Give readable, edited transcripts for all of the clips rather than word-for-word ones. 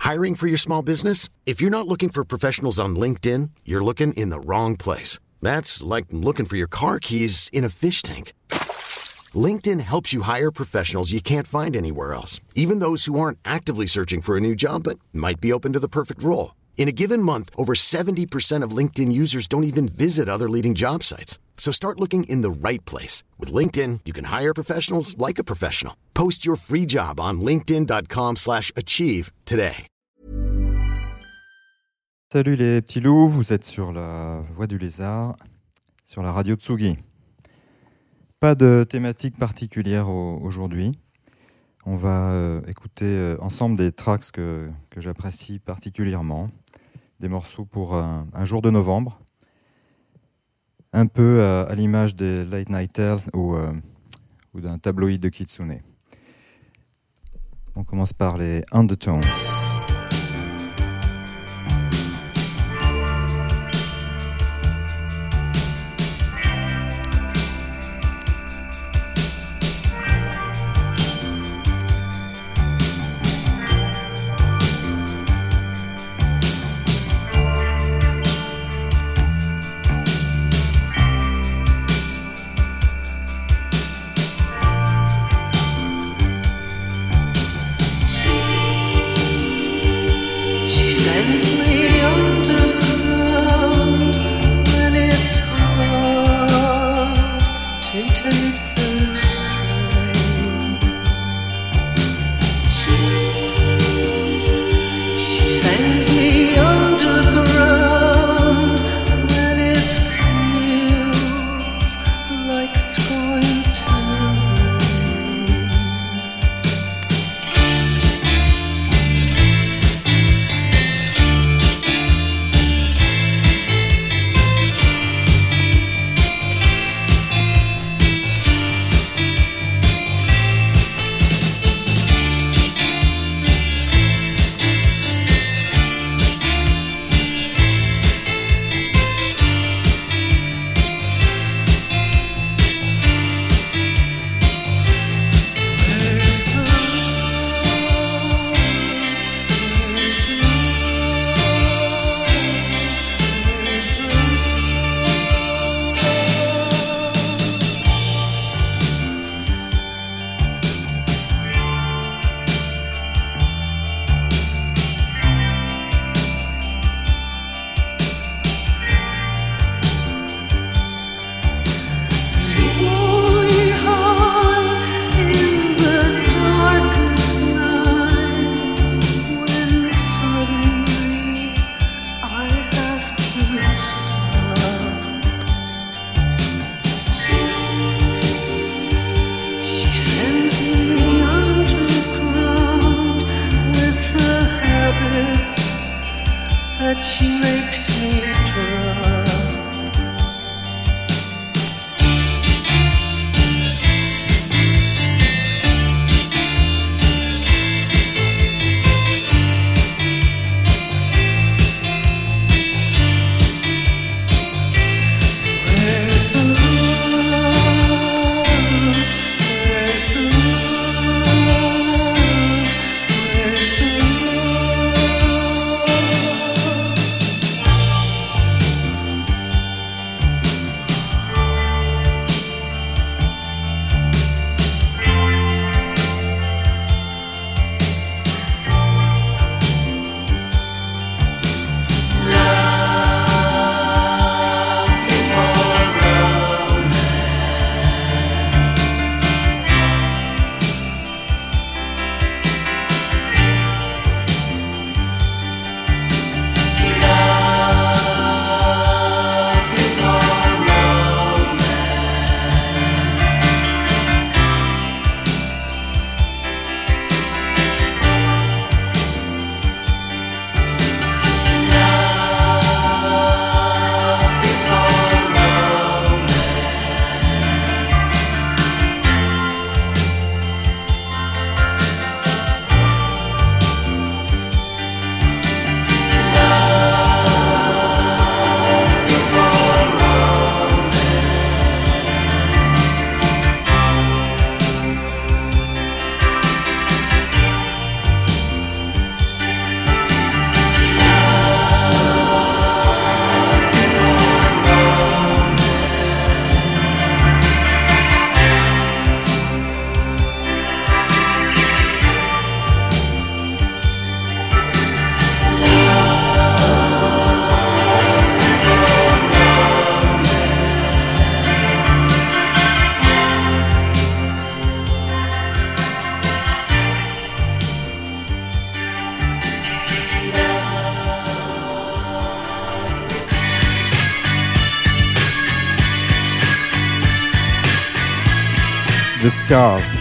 Hiring for your small business? If you're not looking for professionals on LinkedIn, you're looking in the wrong place. That's like looking for your car keys in a fish tank. LinkedIn helps you hire professionals you can't find anywhere else, even those who aren't actively searching for a new job but might be open to the perfect role. In a given month, over 70% of LinkedIn users don't even visit other leading job sites. So start looking in the right place. With LinkedIn, you can hire professionals like a professional. Post your free job on linkedin.com/achieve today. Salut les petits loups, vous êtes sur la Voix du Lézard, sur la radio Tsugi. Pas de thématique particulière aujourd'hui. On va écouter ensemble des tracks que j'apprécie particulièrement. Des morceaux pour un jour de novembre. Un peu à l'image des Late Night Tales ou d'un tabloïd de Kitsune. On commence par les Undertones. The Scars.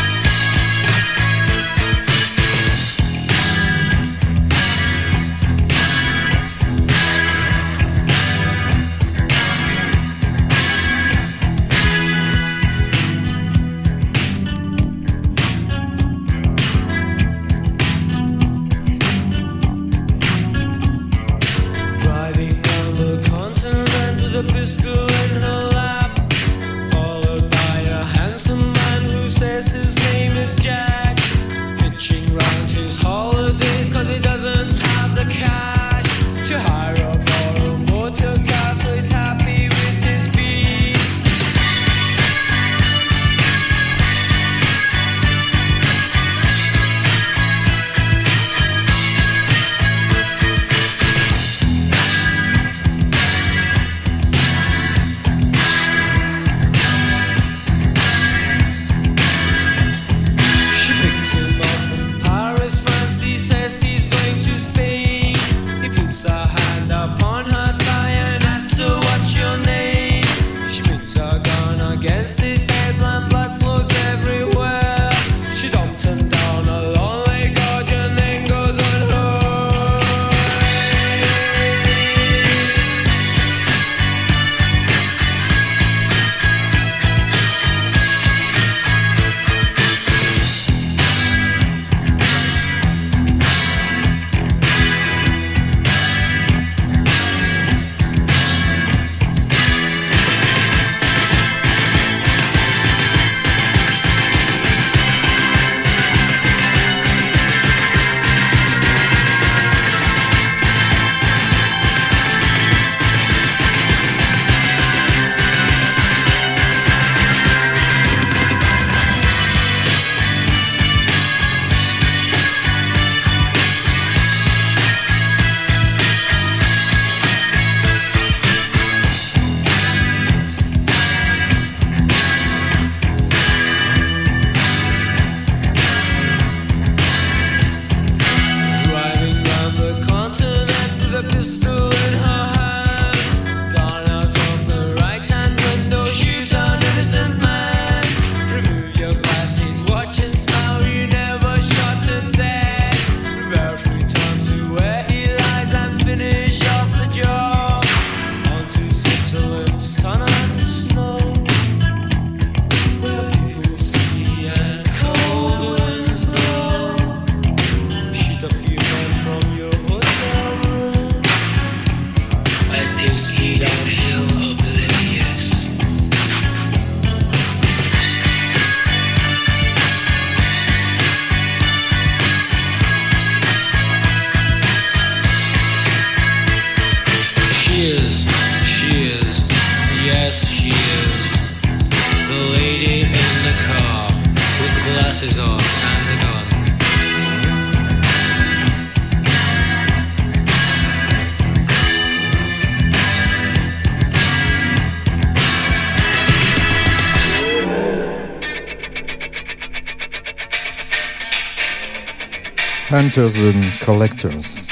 Hunters and Collectors.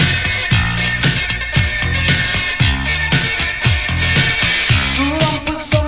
So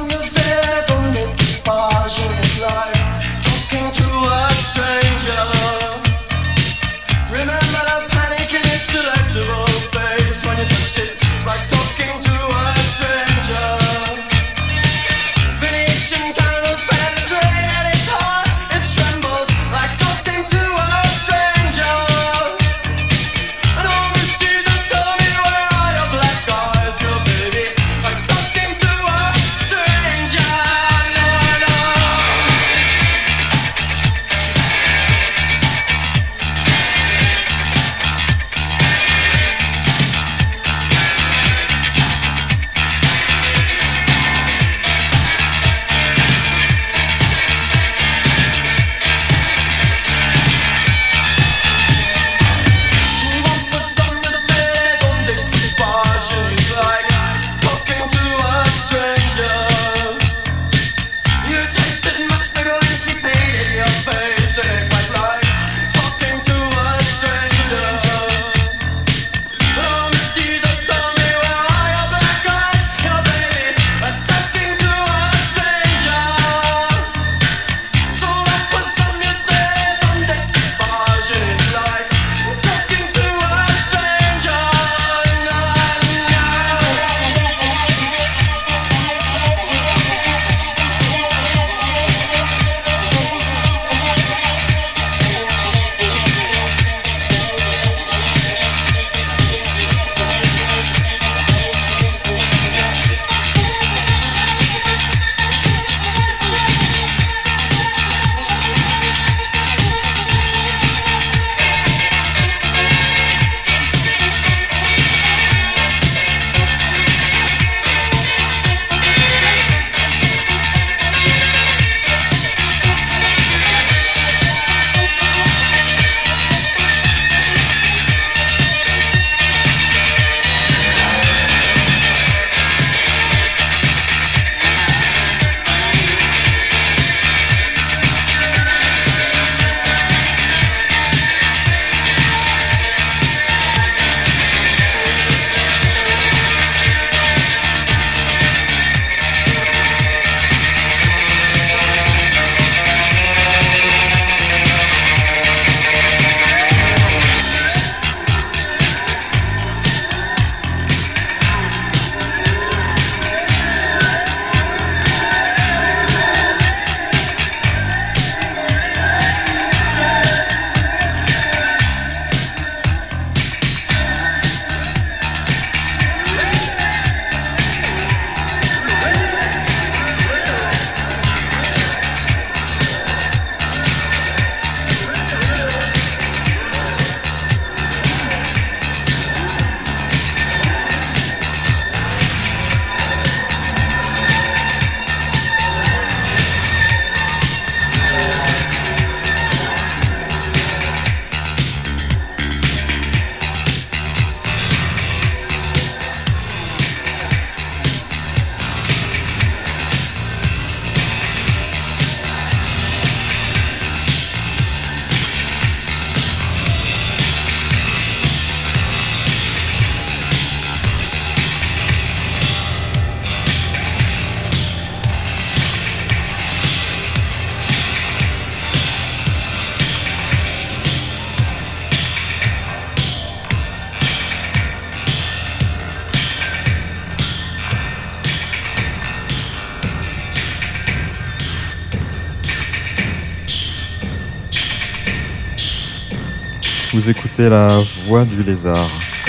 Vous écoutez La Voix du Lézard.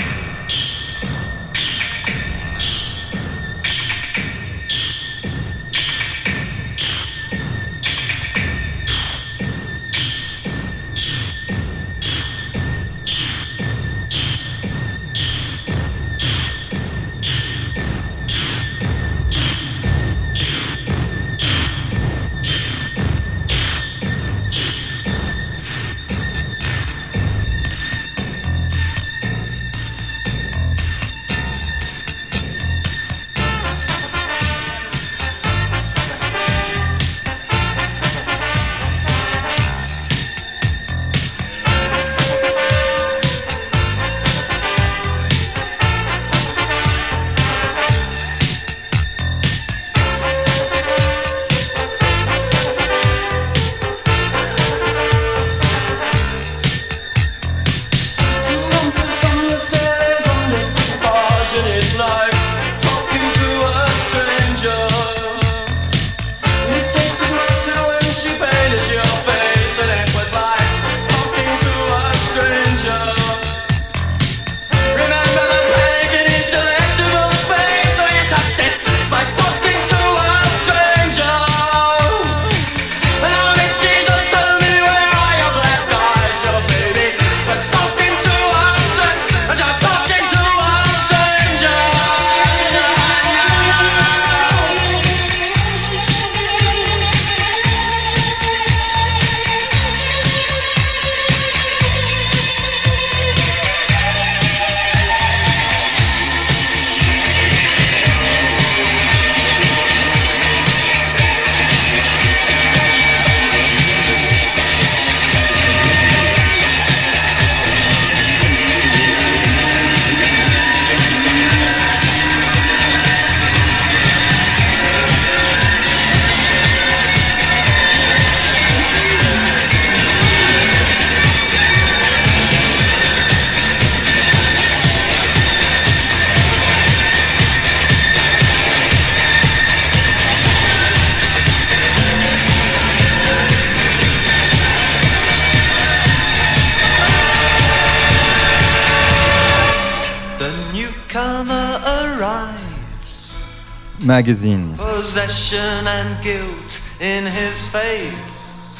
Magazine. Possession and guilt in his face.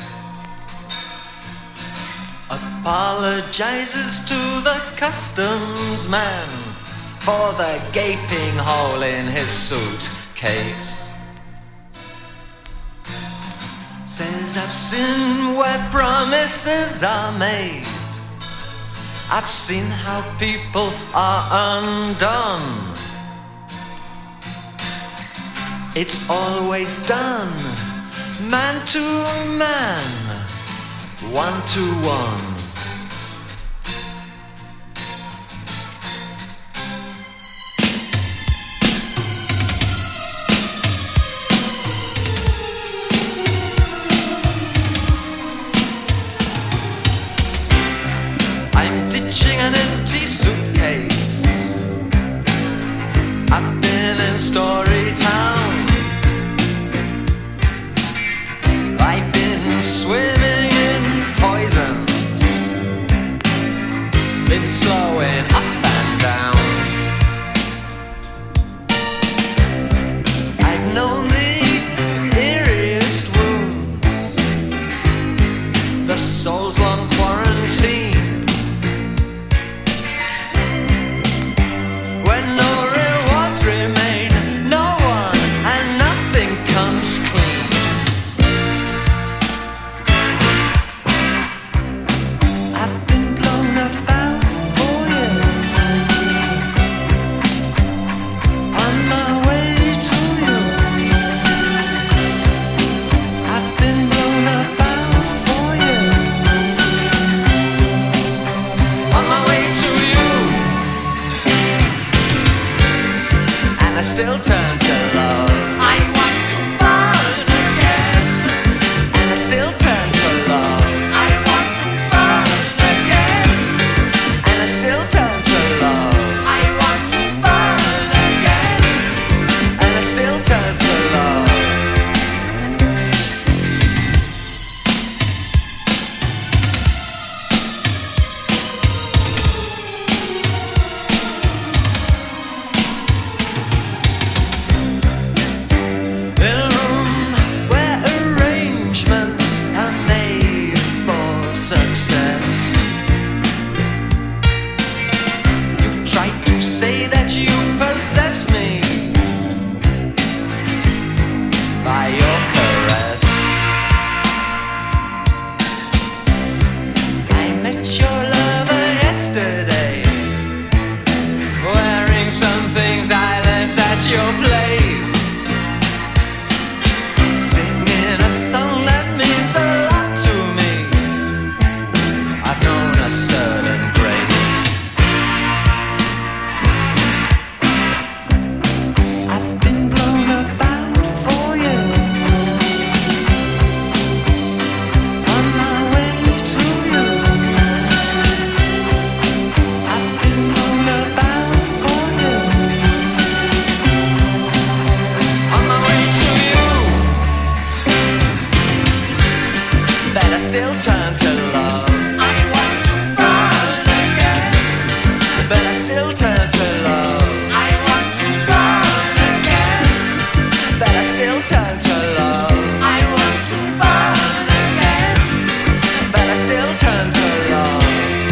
Apologizes to the customs man for the gaping hole in his suitcase. Says I've seen where promises are made. I've seen how people are undone. It's always done, man to man, one to one. I'm ditching an empty suitcase. I've been in Storytown. Swimming in poisons. still turn to love. I want to burn again, but I still turn to love. I want to burn again, but I still turn to love. I want to burn again, but I still turn to love.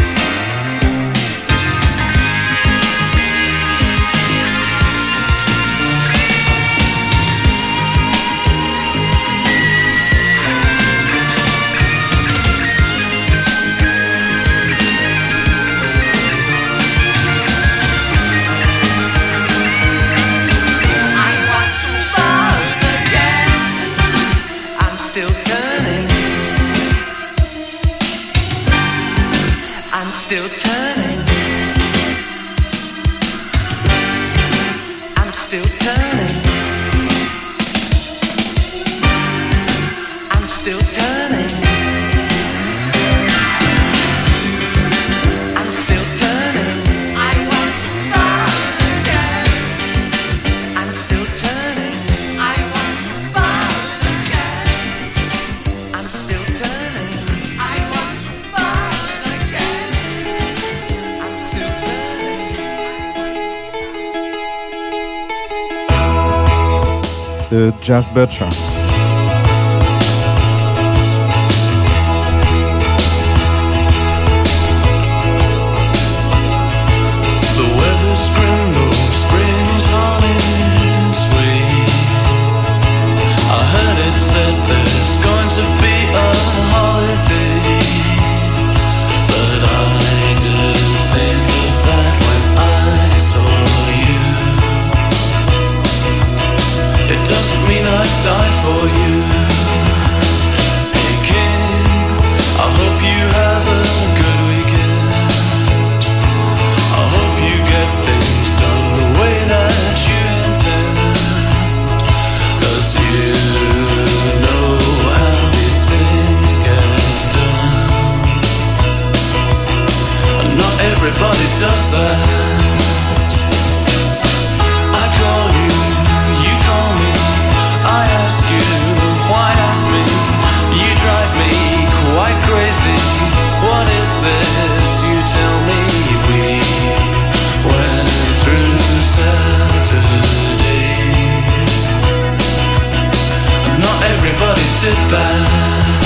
Still turning. I'm still turning. I'm still turning. I'm still turning. I want to burn again. I'm still turning. I want to burn again. I'm still turning. I want to burn again. The Jazz Butcher. The weather's grim, though spring is on its way. I heard it said there's going to be a holiday, but I didn't think of that when I saw you. It doesn't mean I'd die for you. Hey King, I hope you have a good weekend. I hope you get things done the way that you intend. 'Cause you know how these things get done, and not everybody does that. I call you, you call me, I ask you, why ask me? You drive me quite crazy. What is this? You tell me. We went through Saturday, and not everybody did that.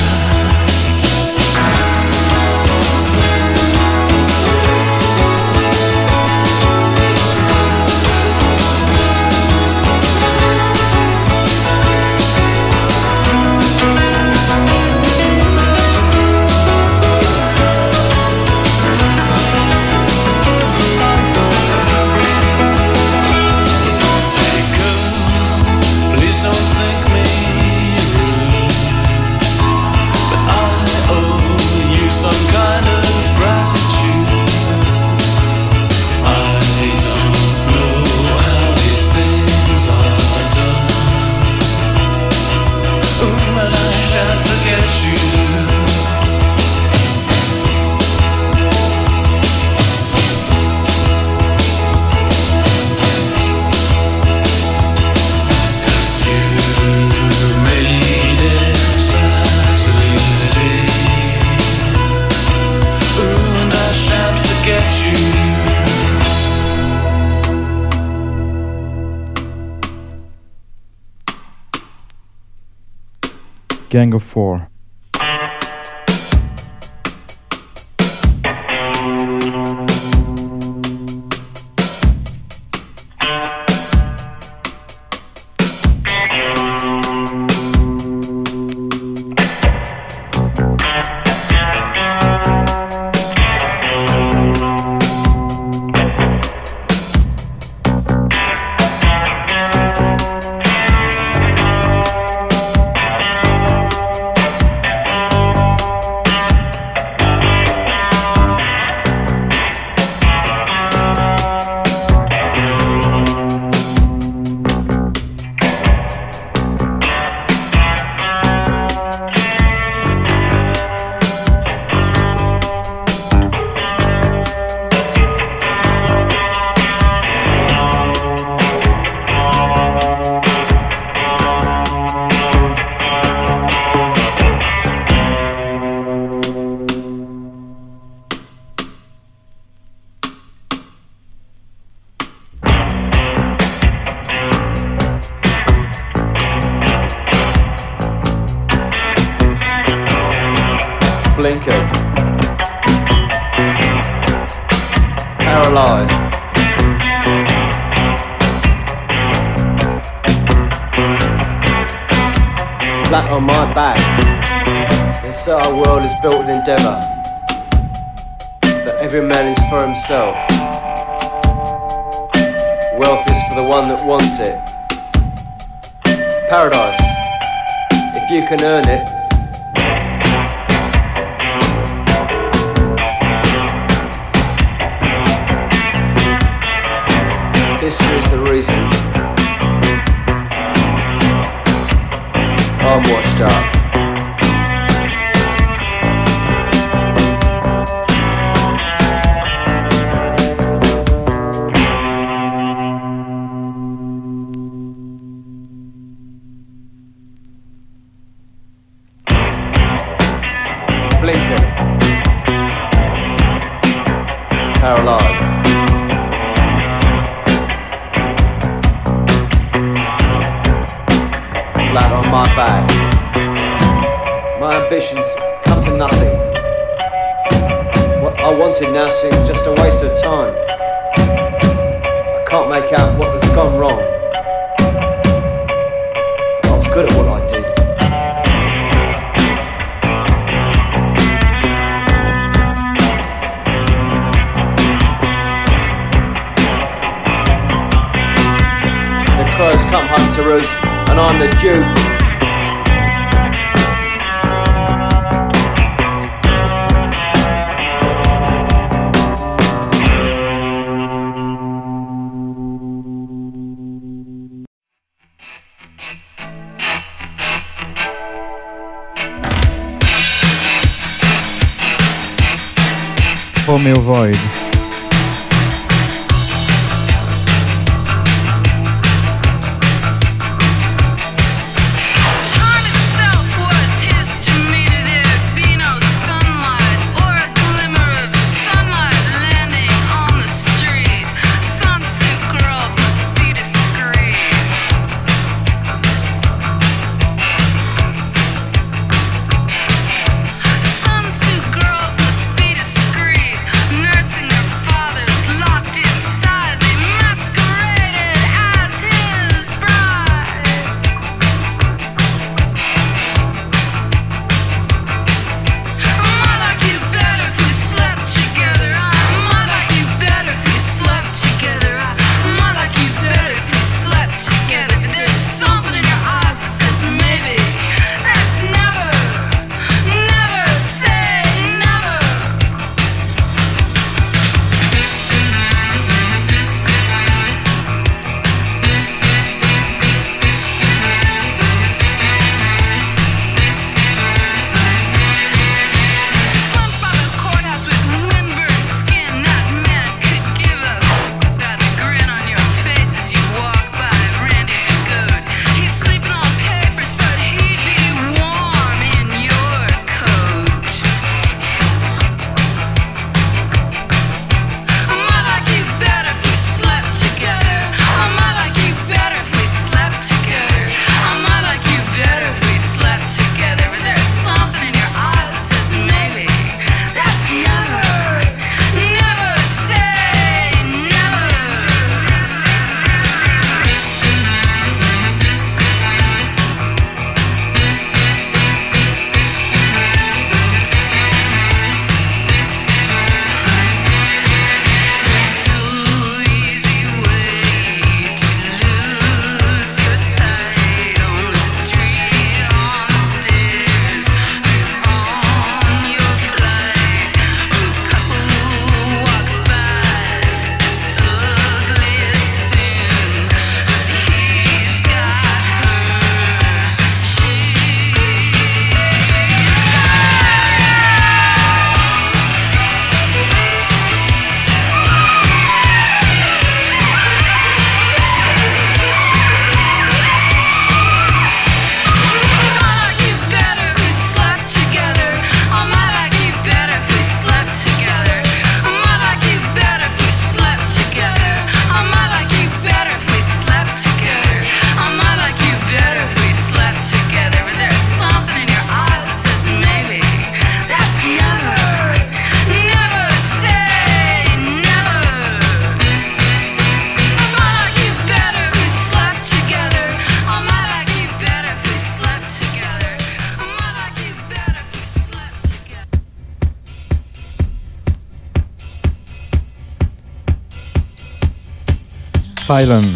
Gang of Four. Blinken. Paralysed. Flat on my back. They say our world is built with endeavour, that every man is for himself. Wealth is for the one that wants it. Paradise, if you can earn it. History is the reason I'm washed up. Blinken. Paralysed. Flat on my back. My ambitions come to nothing. What I wanted now seems just a waste of time. I can't make out what has gone wrong. I was good at what I did. The crows come home to roost, and I'm the dupe. Romeo Void. Nursing their Asylum.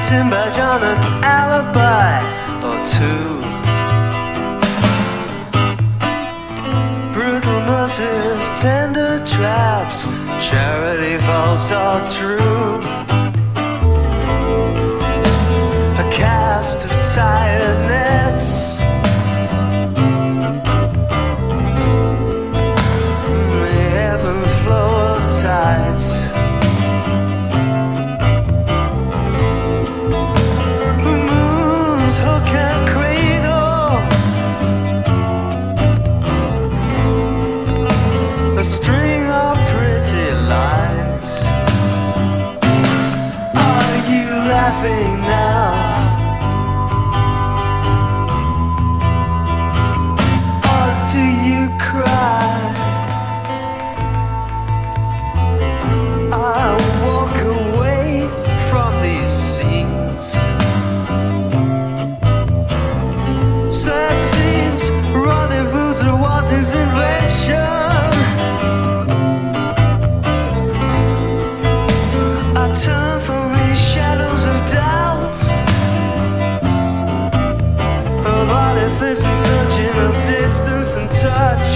waiting by John an alibi or two. Brutal nurses, tender traps, charity false or true. A cast of tired nets, the ebb and flow of tides. The moon's hook and cradle, a string of pretty lies. Are you laughing now? Or do you cry? I walk away from these scenes. Sad scenes, rendezvous of what is invention. I turn from these shadows of doubt, of artifice and searching of distance and touch.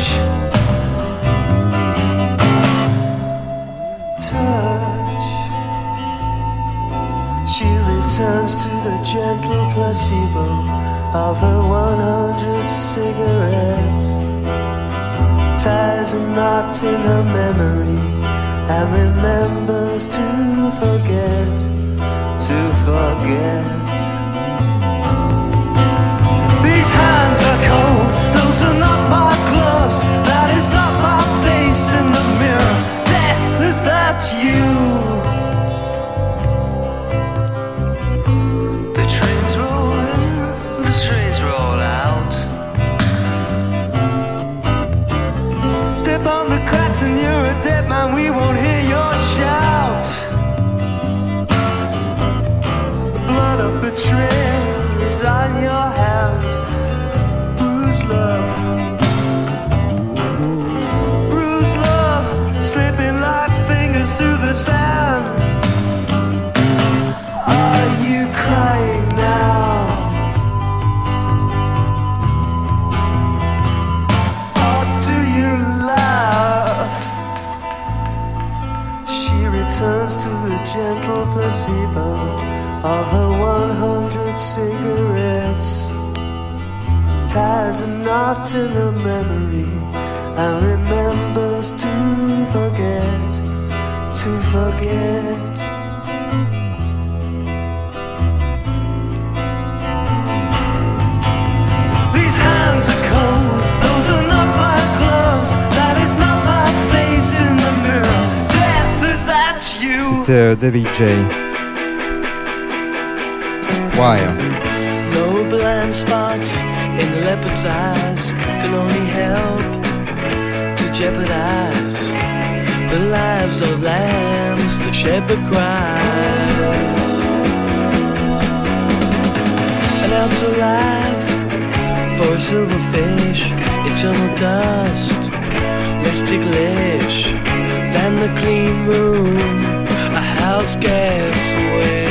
Touch. She returns to the gentle placebo of her 100 cigarettes, ties a knot in her memory, and remembers to forget, to forget. These hands are cold, those are not my gloves, that is not my face in the mirror. Death, is that you? The trains roll in, the trains roll out. Step on the cracks and you're a dead man, we won't hear your shout. The blood of betrayal is on your hands. Bruised love, bruised love, slipping like fingers through the sand. Are you crying now? Or do you laugh? She returns to the gentle placebo of her 100 cigarettes, ties a knot in her memory, and remembers to forget, to forget. These hands are cold, those are not my gloves, that is not my face in the mirror. Death, is that you? C'était David J. Wire. No blind spots in the leopard's eyes can only help to jeopardize the lives of lambs the shepherd cries. An outer life for a silverfish, eternal dust, less ticklish than the clean room a house gets wet.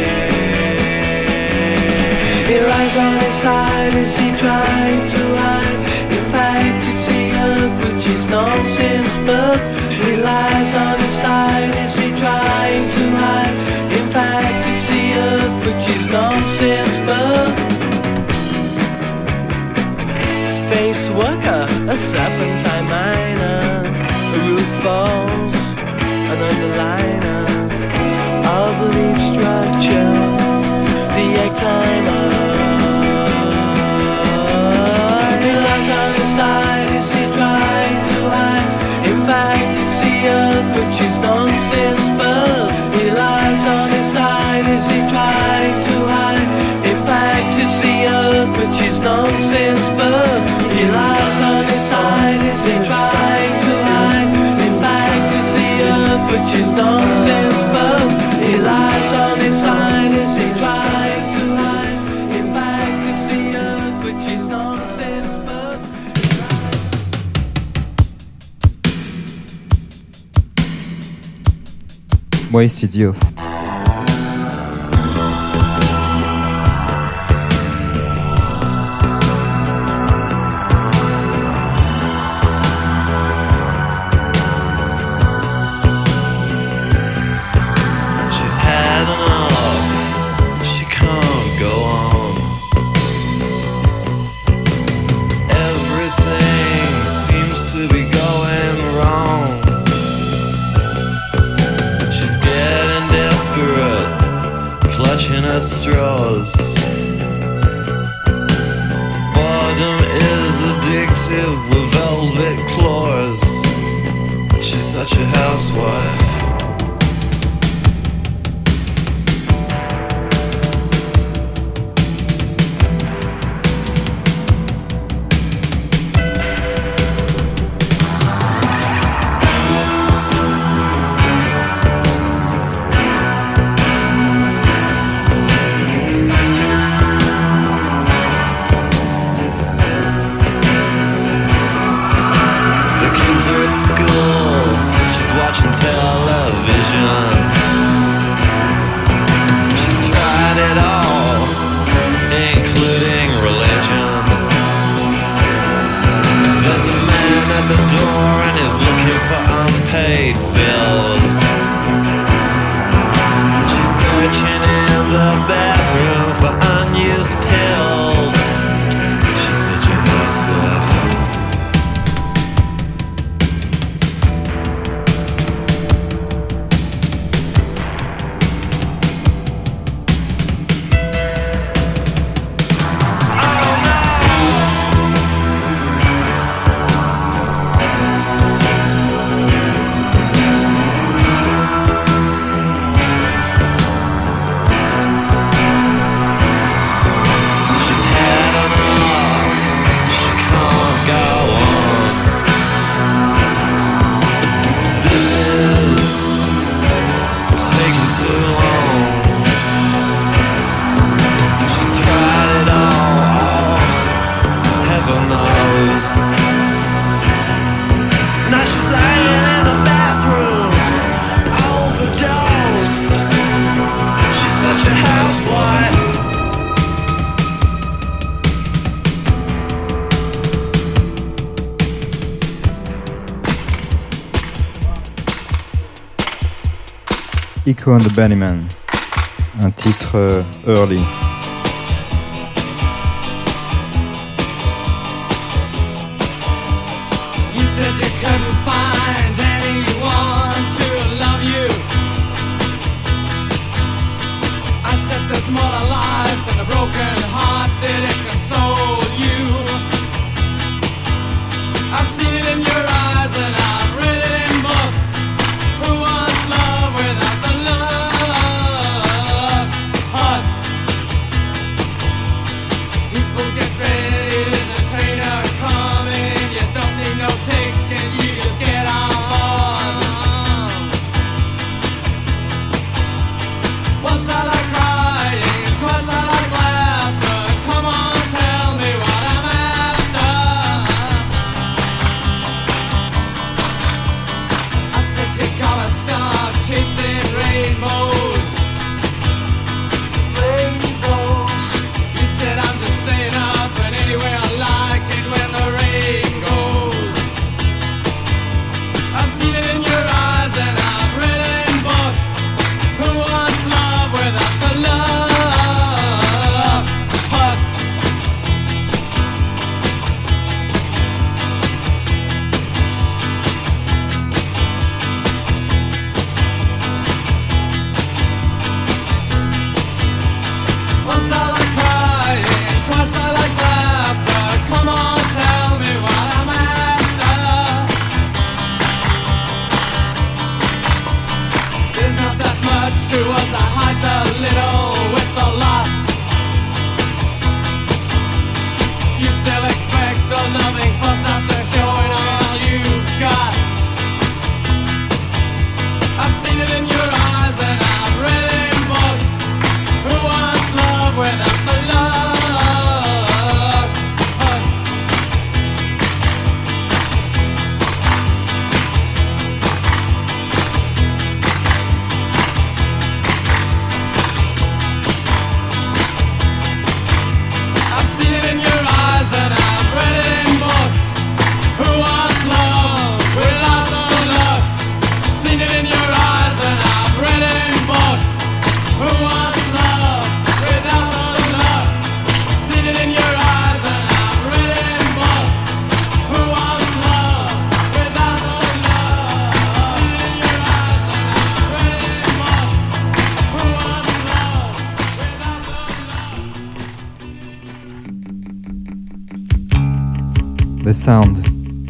He lies on his side, is he trying to hide? In fact, it's the earth which is nonsense, but he lies on his side, is he trying to hide? In fact, it's the earth which is nonsense, but face worker, a serpentine miner, a roof falls, an underliner of leaf structure, the egg timer. He lies on his side, is he trying to hide? In fact, it's the earth which is nonsense, but he lies on his side, is he trying to hide? In fact, it's the earth which is nonsense, but he lies on his side, is he trying to hide? In fact, it's the earth which is nonsense, but he lies on his side, is he trying to hide? In fact, it's the earth which is nonsense, but Wasted Youth. her straws. Boredom is addictive with velvet claws. She's such a housewife. Watching television. She's tried it all, including religion. There's a man at the door and he's looking for unpaid bills. She's searching in the bathroom for unused pills. She's such a housewife. Echo and the Bunnymen, un titre early. You said you couldn't find anyone to love you. I said there's more to life than a broken heart. Did it console you? I've seen it in your eyes and I've read it in books. Who wants love without the love huts? People get ready, there's a trainer coming. You don't need no ticket, you just get on board. Once I like crying, twice I like laughter. Come on, tell me what I'm after. I said you gotta stop chasing rainbows. Rainbows. You said I'm just staying up and anyway I like it when the rain goes. I've seen it in your eyes and I've read it in books. Who wants love without the love huts? Once I like crying, twice I like laughter. Come on, tell me what I'm after. There's not that much to us, I hide the little with the lot. You still expect a loving fuss after showing all you've got. I've seen it in your eyes and I've read it in books. Who wants love without the love huts? I've seen it in your eyes and I've read it in books. The Sound.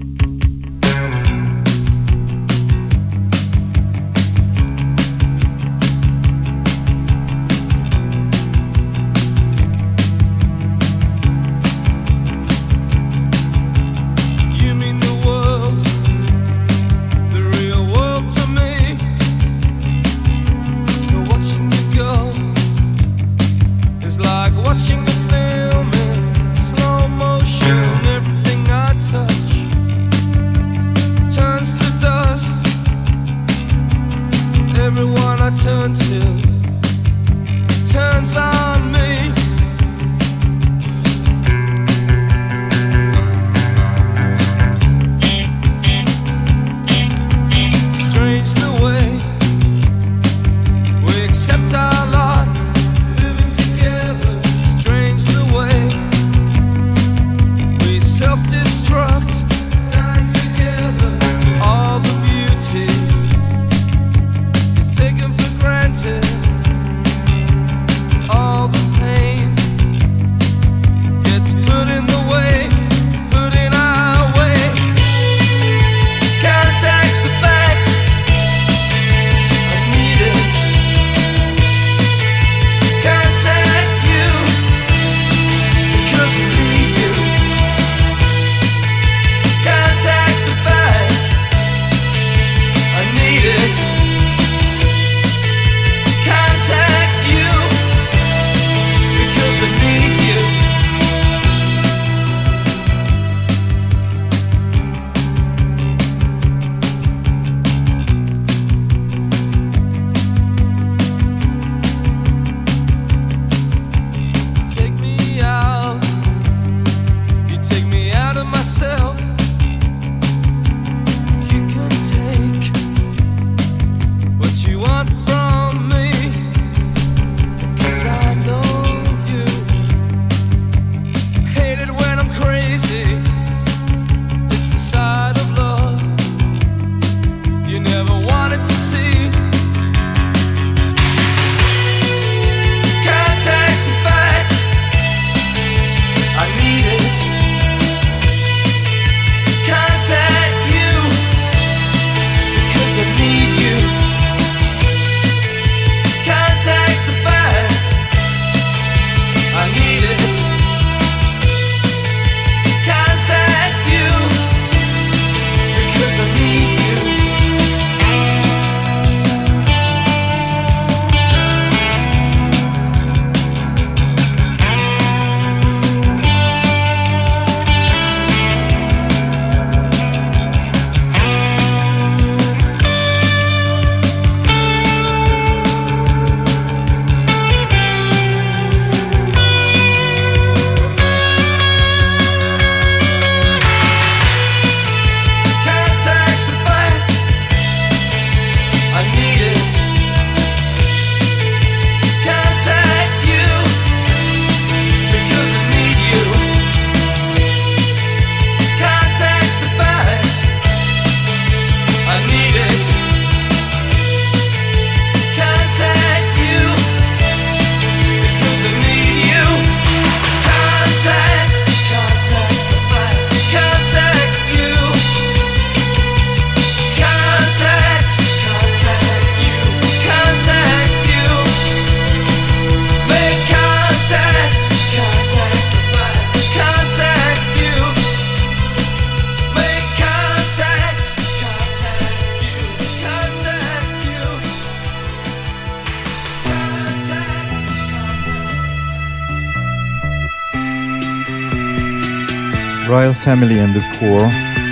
Royal Family and the Poor.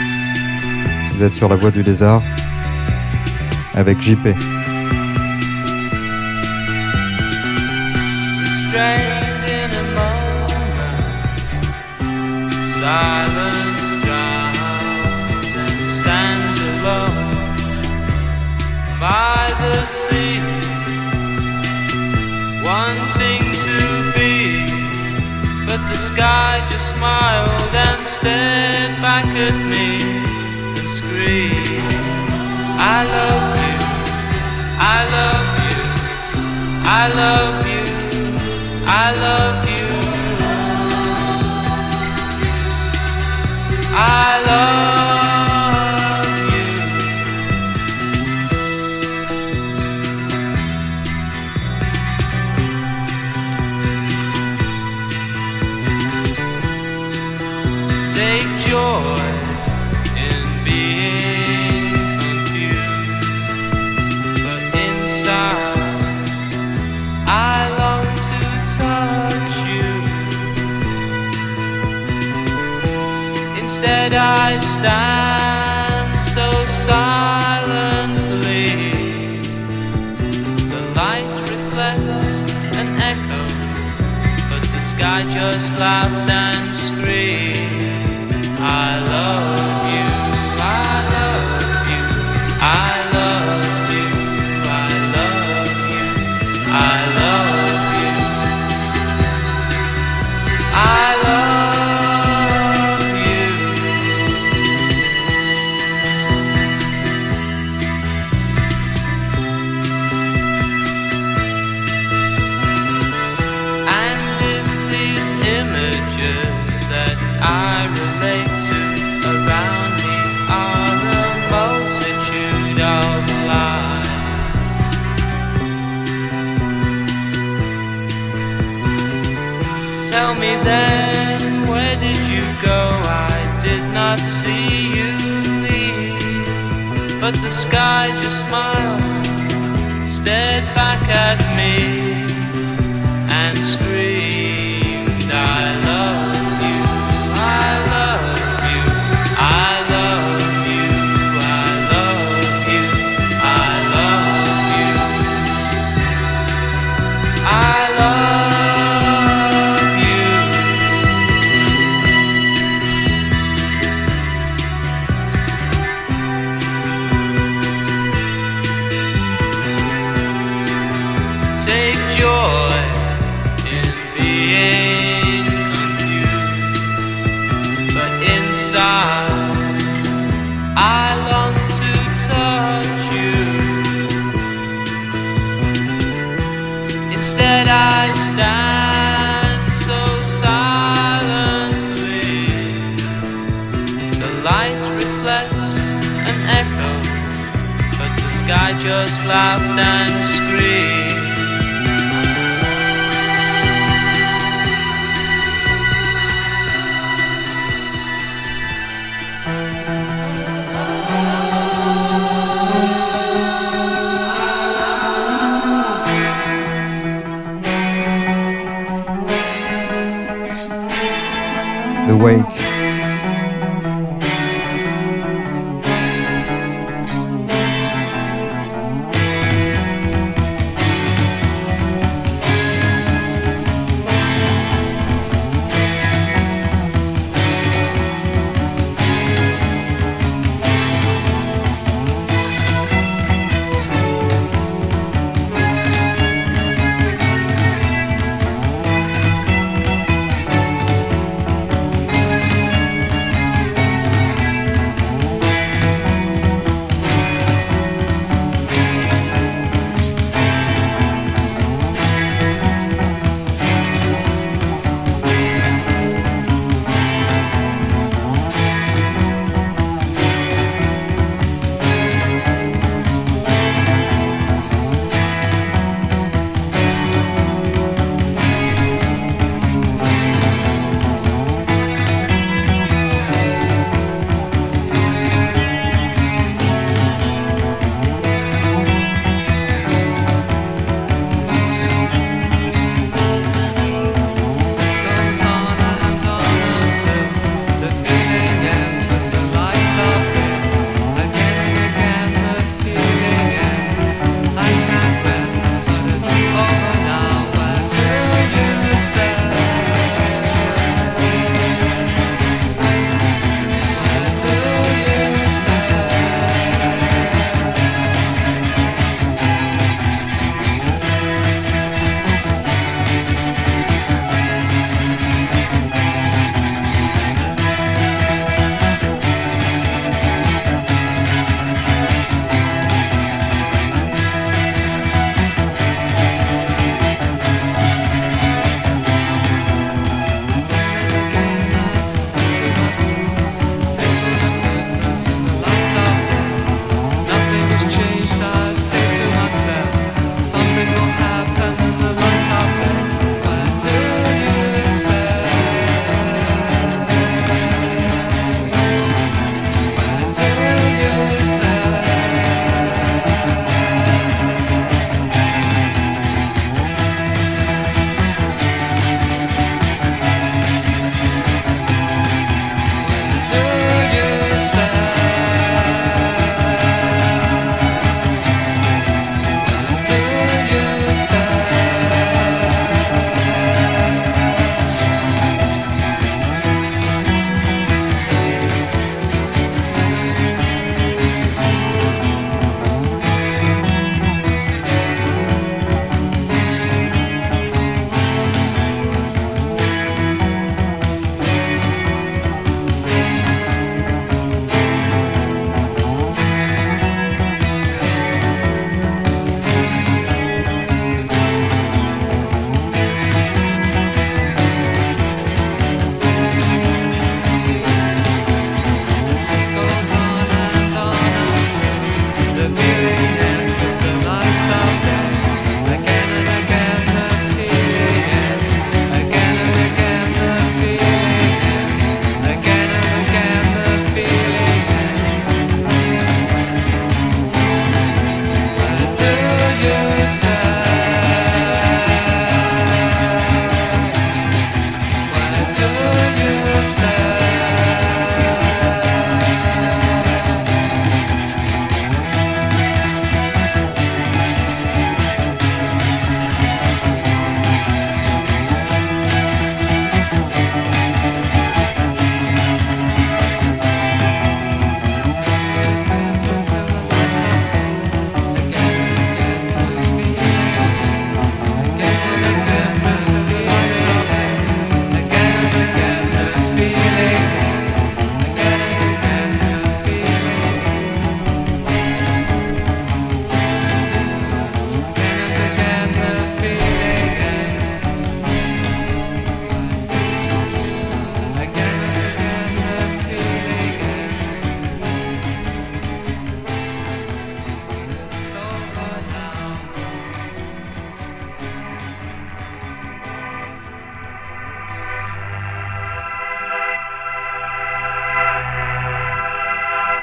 Vous êtes sur la Voie du Lézard avec JP. Restrained in a moment, silence drowns and stands alone by the sea, wanting to be, but the sky just smiled and stared back at me and screamed, I love you, I love you, I love you, I love you. stand so silently. The light reflects and echoes, but the sky just laughed and screamed. I love you, I love you, I love you, I love you, I love you, I love you. And if these images that I relate to around me are a multitude of lies, tell me then, where did you go? I did not see you leave, but the sky just smiled, stared back at me and screamed, I love you, I love you, I love you, I love you, I love you, I love you. Take joy in being confused, but inside I long to touch you. Instead I stand so silently. The light reflects and echoes, but the sky just laughed and screamed. The Wake.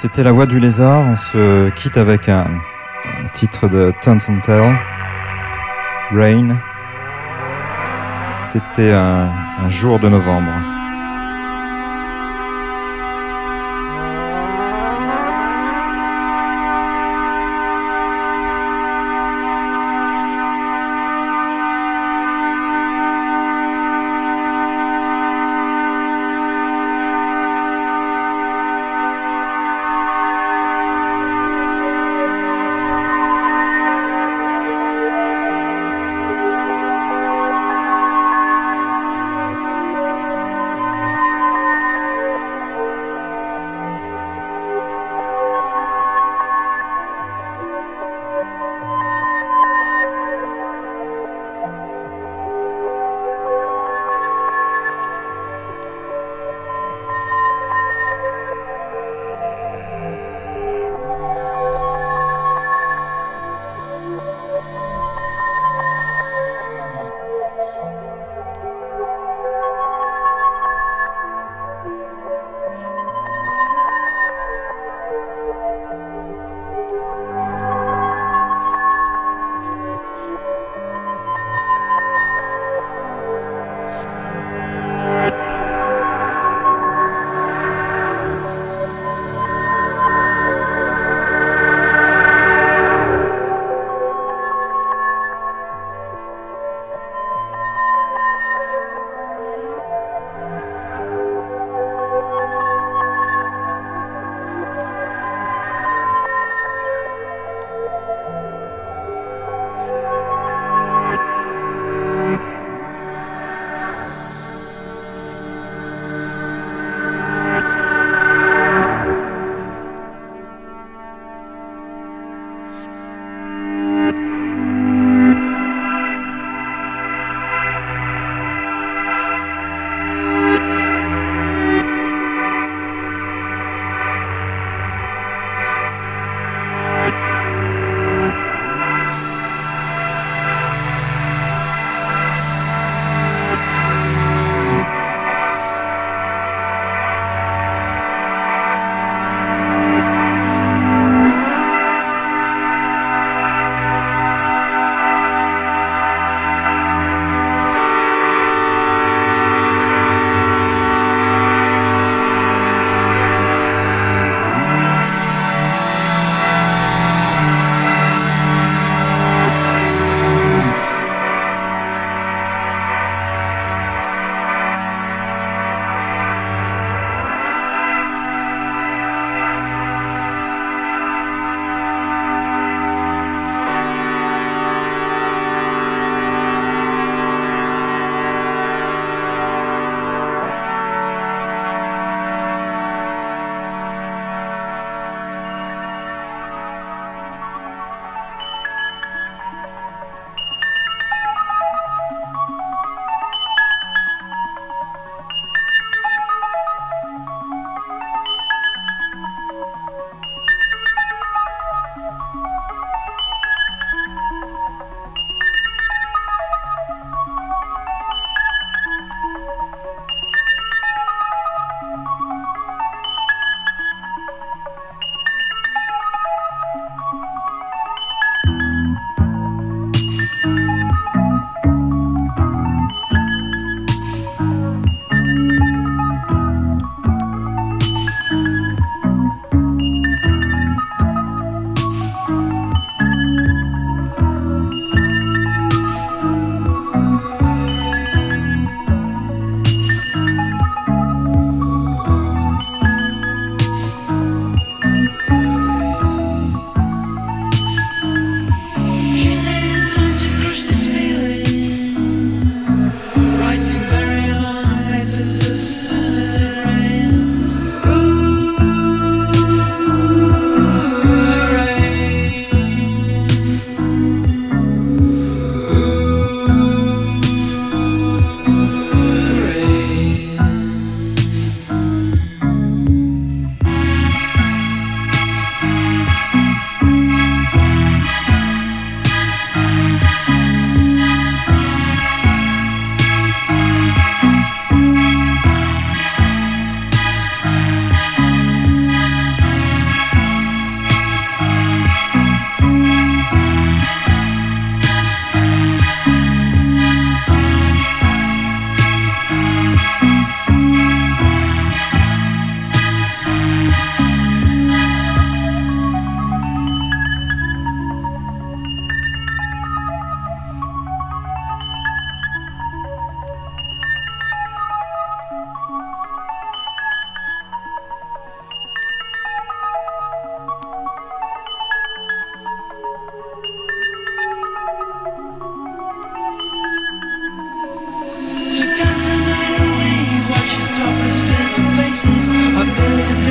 C'était La Voix du Lézard. On se quitte avec un titre de Tons and Tell, Rain. C'était un jour de novembre.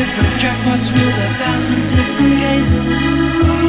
different jackpots with 1,000 different gazes.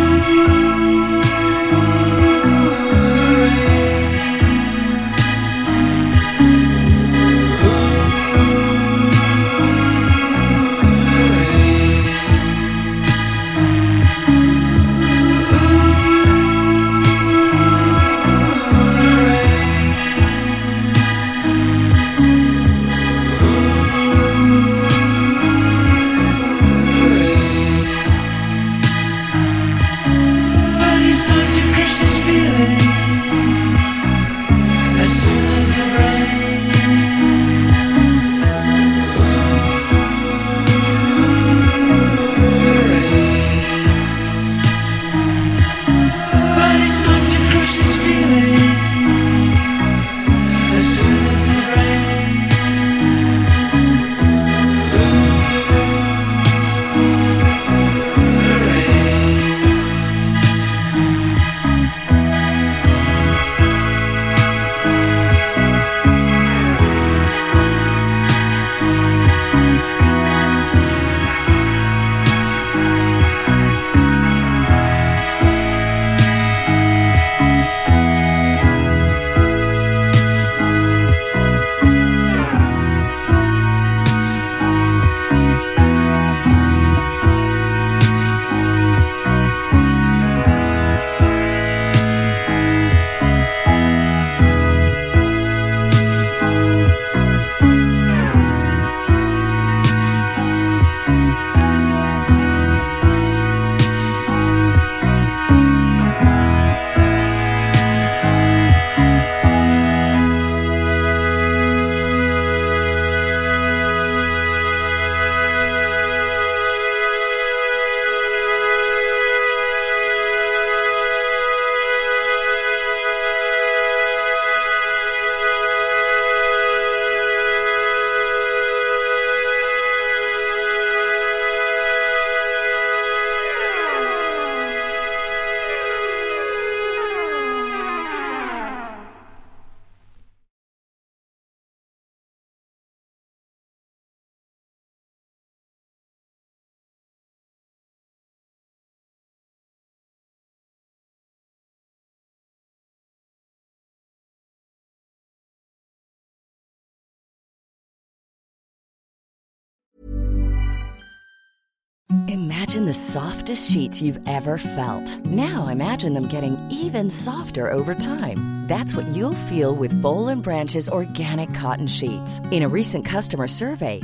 Imagine the softest sheets you've ever felt. Now imagine them getting even softer over time. That's what you'll feel with Boll & Branch's organic cotton sheets. In a recent customer survey,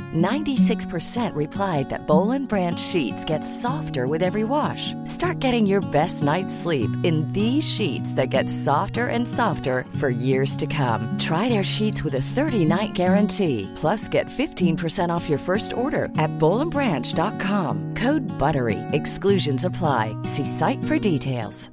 96% replied that Boll & Branch sheets get softer with every wash. Start getting your best night's sleep in these sheets that get softer and softer for years to come. Try their sheets with a 30-night guarantee. Plus, get 15% off your first order at bollandbranch.com. Code BUTTERY. Exclusions apply. See site for details.